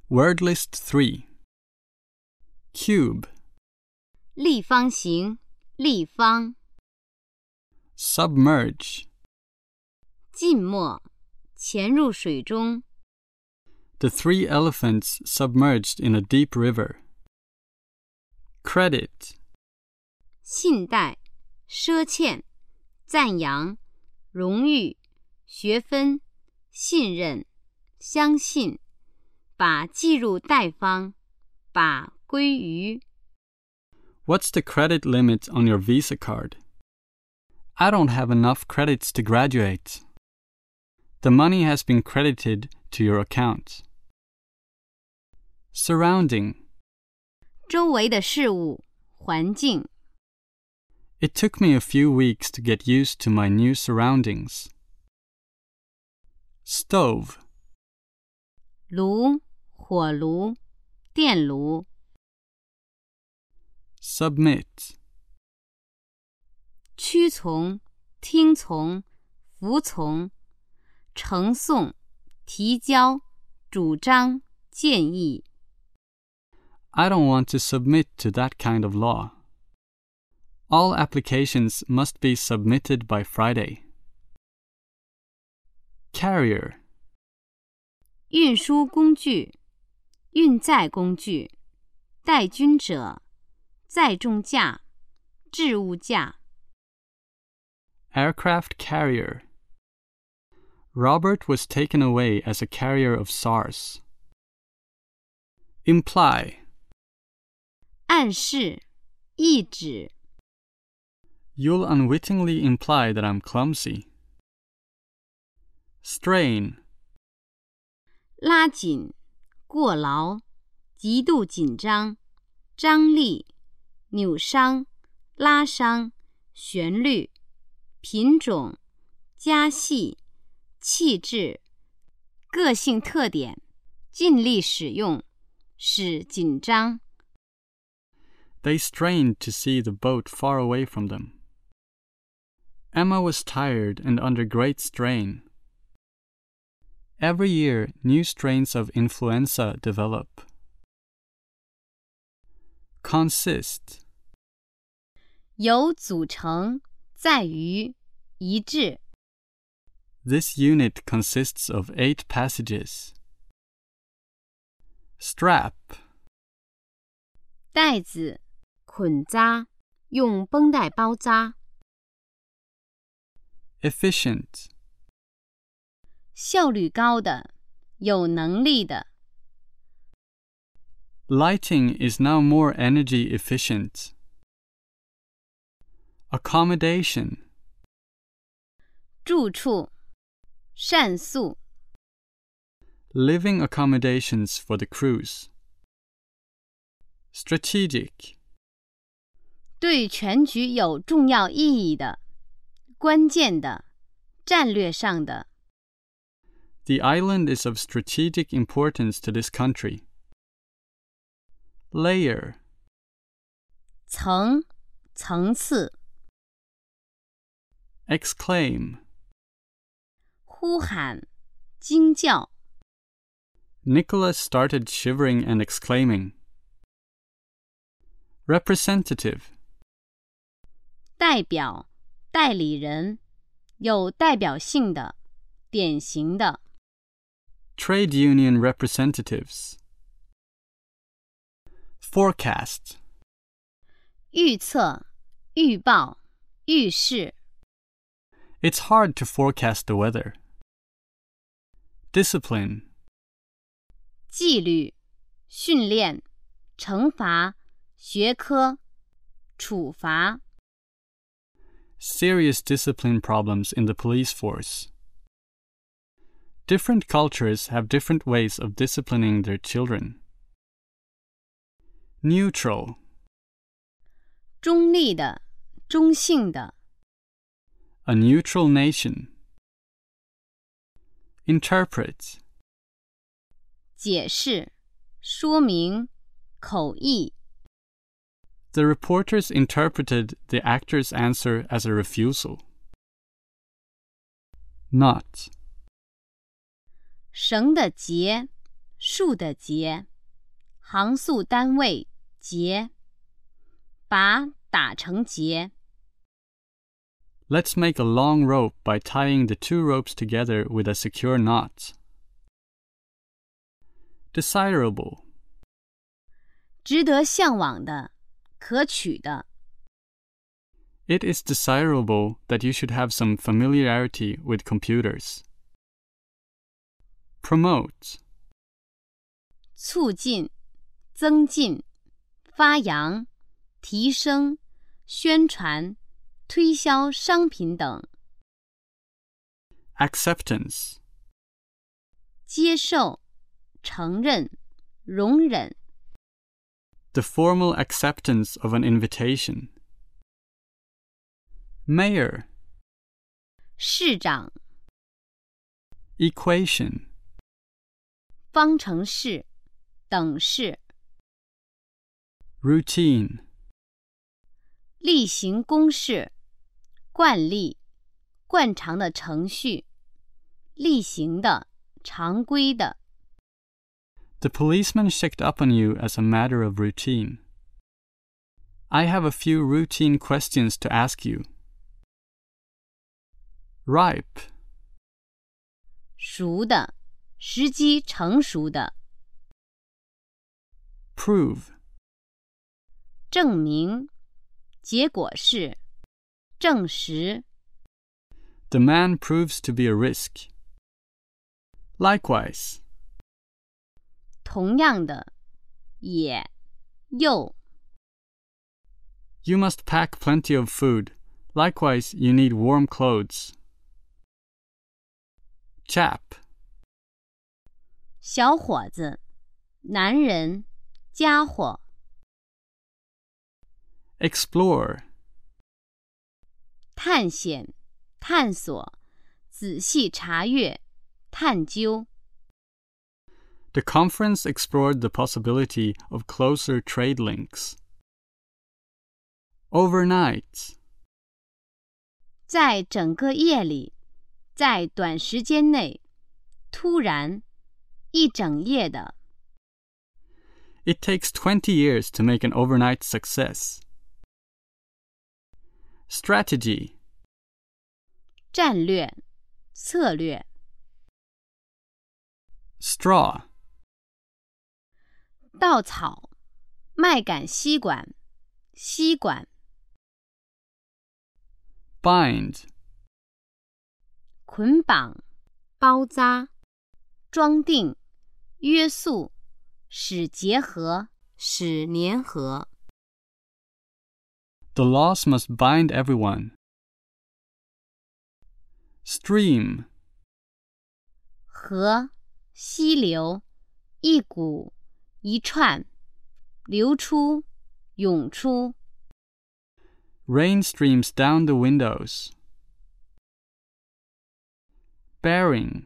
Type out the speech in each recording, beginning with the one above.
Word list 3. Cube, 立方形，立方。 submerge, 浸没，潜入水中。 the 3 elephants submerged in a deep river. Credit, 信贷，赊欠，赞扬，荣誉，学分，信任，相信，把计入贷方，把归于。 what's the credit limit on your Visa card? I don't have enough credits to graduate. The money has been credited to your account. Surrounding, 周围的事物，环境。 it took me a few weeks to get used to my new surroundings. Stove, 炉，火炉，电炉。 submit, 屈从，听从，服从，呈送，提交，主张，建议。 I don't want to submit to that kind of law. All applications must be submitted by Friday. Carrier, 运输工具，运载工具，带军者，载重架，置物架。 aircraft carrier. Robert was taken away as a carrier of SARS. Imply, 暗示，意指。 you'll unwittingly imply that I'm clumsy. Strain, 拉紧，过劳，极度紧张，张力，扭伤，拉伤，旋律，品种，加细，气质，个性特点，尽力使用，使紧张。 they strained to see the boat far away from them. Emma was tired and under great strain. Every year, new strains of influenza develop. Consist, 由组成，在于，一致。 this unit consists of 8 passages. Strap, 带子，捆扎，用绷带包扎。 efficient, 效率高的，有能力的。 lighting is now more energy efficient. Accommodation, 住处，膳宿。 living accommodations for the cruise. Strategic, 对全局有重要意义的，关键的，战略上的。 the island is of strategic importance to this country. Layer, 层，层次。 exclaim, 呼喊，惊叫。 Nicholas started shivering and exclaiming. Representative, 代表，代理人，有代表性的，典型的。 trade union representatives. Forecast, 预测，预报，预示。 it's hard to forecast the weather. Discipline, 纪律，训练，惩罚，学科，处罚。 serious discipline problems in the police force. Different cultures have different ways of disciplining their children. Neutral, 中立的，中性的。 a neutral nation. Interpret, 解释，说明，口译。 the reporters interpreted the actor's answer as a refusal. Knot, 绳的结， 数的节，行数单位节，把打成结。 Let's make a long rope by tying the two ropes together with a secure knot. Desirable. 值得向往的，可取的。 It is desirable that you should have some familiarity with computers. Promote. 促进、增进、发扬、提升、宣传、推销商品等。 Acceptance. 接受、承认、容忍。 The formal acceptance of an invitation. Mayor. 市长。 Equation. 方程式、等式。 Routine. 例行公事、惯例、惯常的程序、例行的、常规的。 The policeman checked up on you as a matter of routine. I have a few routine questions to ask you. Ripe. 熟的，时机成熟的。 Prove. 证明，结果是，证实。 The man proves to be a risk. Likewise. 同样的，也，又。 You must pack plenty of food. Likewise, you need warm clothes. Chap. 小伙子，男人，家伙。 Explore. 探险，探索，仔细查阅，探究。 The conference explored the possibility of closer trade links. Overnight. 在整个夜里，在短时间内，突然，一整夜的。 It takes 20 years to make an overnight success. Strategy. 战略，策略。 Straw. 稻草，麦秆吸管，吸管。 Bind. 捆绑，包扎，装订，约束，使结合，使粘合。 The laws must bind everyone. Stream. 河，溪流，一股，一串，流出，涌出。 Rain streams down the windows. Bearing.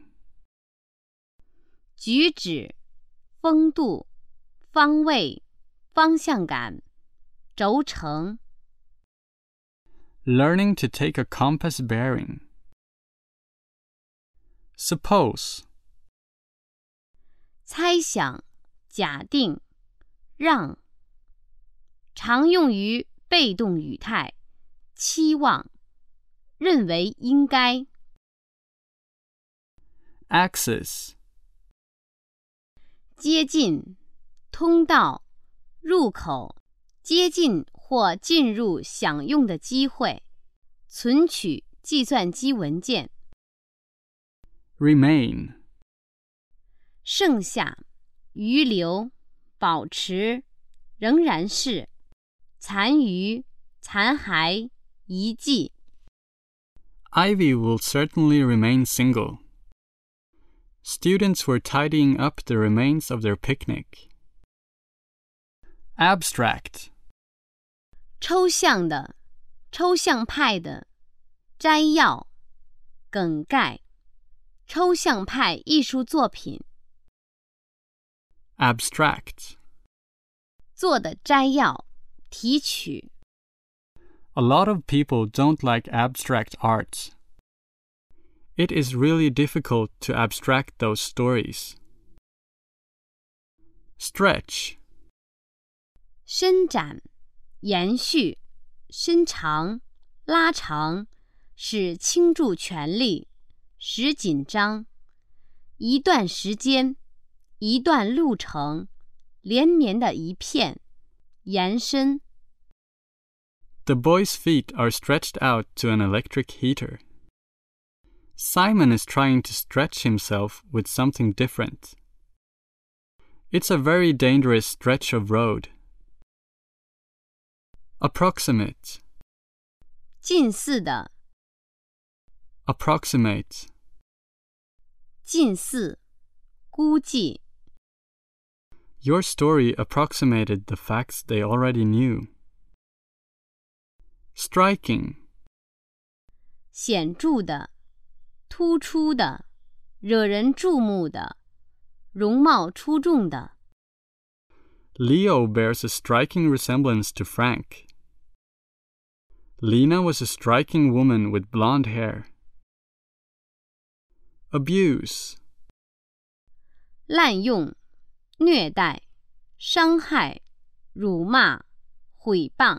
举止，风度，方位，方向感，轴承。 Learning to take a compass bearing. Suppose. 猜想，假定，让。常用于被动语态，期望，认为应该。 Access. 接近，通道，入口，接近或进入享用的机会，存取计算机文件。 Remain. 剩下，余留，保持，仍然是，残余，残骸，遗迹。 Ivy will certainly remain single. Students were tidying up the remains of their picnic. Abstract. 抽象的，抽象派的，摘要，梗概，抽象派艺术作品。 Abstract. 做的摘要，提取。 A lot of people don't like abstract art. It is really difficult to abstract those stories. Stretch. 伸展、延续、伸长、拉长，使倾注全力，使紧张。一段时间，一段路程，连绵的一片，延伸。 The boy's feet are stretched out to an electric heater. Simon is trying to stretch himself with something different. It's a very dangerous stretch of road. Approximate. 近似的， Approximate. 近似，估计。 Your story approximated the facts they already knew. Striking. 显著的，突出的，惹人注目的，容貌出众的。 Leo bears a striking resemblance to Frank. Lena was a striking woman with blonde hair. Abuse. 滥用、虐待、伤害、辱骂、毁谤。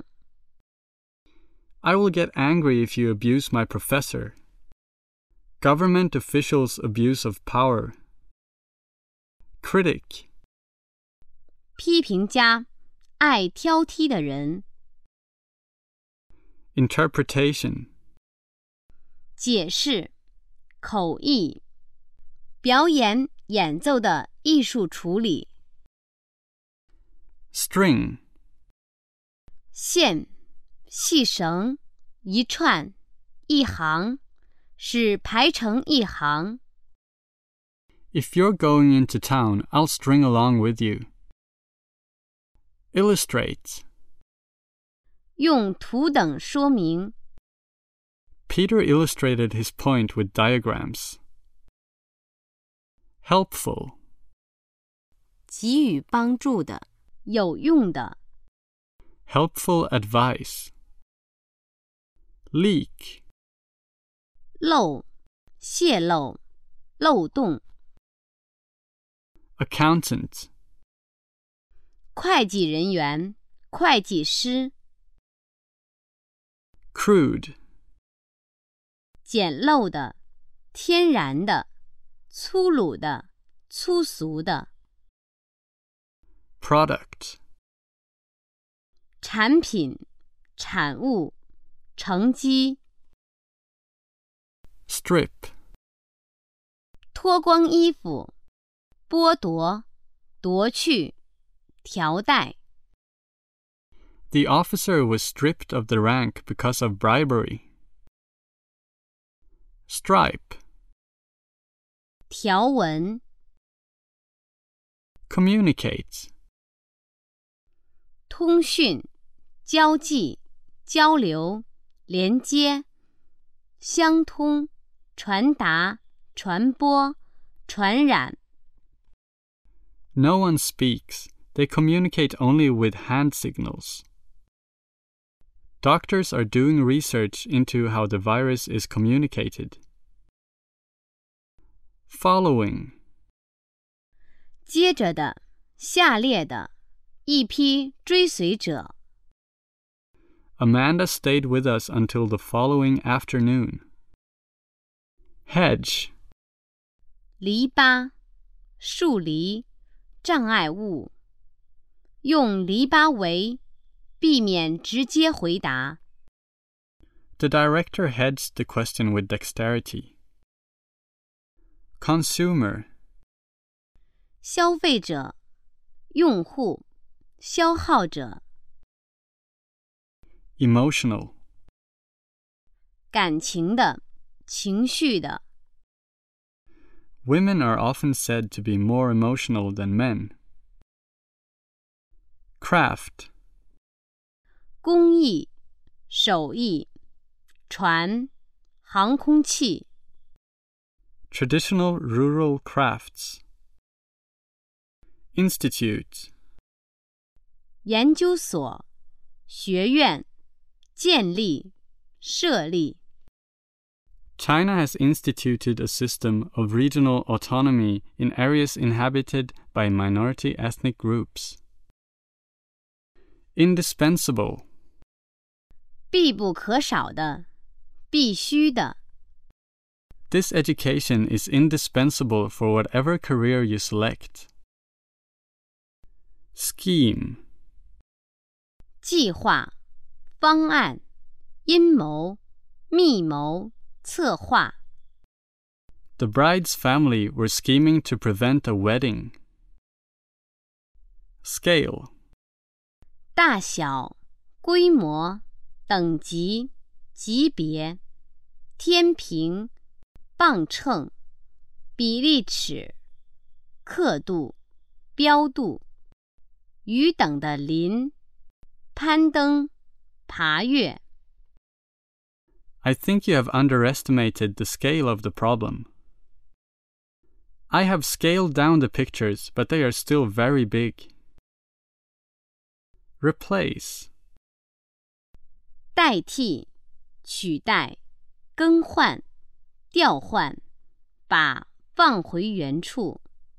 I will get angry if you abuse my professor. Government officials' abuse of power. Critic. 批评家，爱挑剔的人。 Interpretation. 解释、口译、表演、演奏的艺术处理。 String. 线、细绳、一串、一行，使排成一行。 If you're going into town, I'll string along with you. Illustrate. 用图等说明。 Peter illustrated his point with diagrams. Helpful. 给予帮助的，有用的。 Helpful advice. Leak. 漏、泄漏、漏洞。 Accountant. 会计人员、会计师。 Crude. 简陋的、天然的、粗鲁的、粗俗的。 Product. 产品、产物、成绩。 Strip. 脱光衣服，剥夺、夺去、调带。 The officer was stripped of the rank because of bribery. Stripe. 条纹。 Communicate. 通讯、交际、交流、连接、相通、传达、传播、传染。 No one speaks. They communicate only with hand signals. Doctors are doing research into how the virus is communicated. Following. 接着的，下列的，一批追随者。 Amanda stayed with us until the following afternoon. Hedge. 篱笆、树篱、障碍物。用篱笆围，避免直接回答。 The director hedged the question with dexterity. Consumer. 消费者、用户、消耗者。 Emotional. 感情的、情绪的。 Women are often said to be more emotional than men. Craft. 工艺、手艺、船、航空器。 Traditional rural crafts. Institute. 研究所、学院、建立、设立。 China has instituted a system of regional autonomy in areas inhabited by minority ethnic groups. Indispensable. 必不可少的，必须的。 This education is indispensable for whatever career you select. Scheme. 计划、方案、阴谋、密谋、策划。 The bride's family were scheming to prevent a wedding. Scale. 大小、规模、等级、级别、天平、磅秤、比例尺、刻度、标度、与等的邻、攀登、爬越。 I think you have underestimated the scale of the problem. I have scaled down the pictures, but they are still very big. Replace. 代替、取代、更换、调换，把放回原处。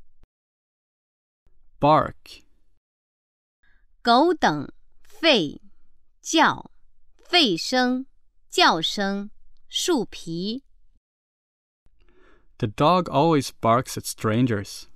Bark. 狗等、吠、叫、吠声、叫声、树皮。 The dog always barks at strangers.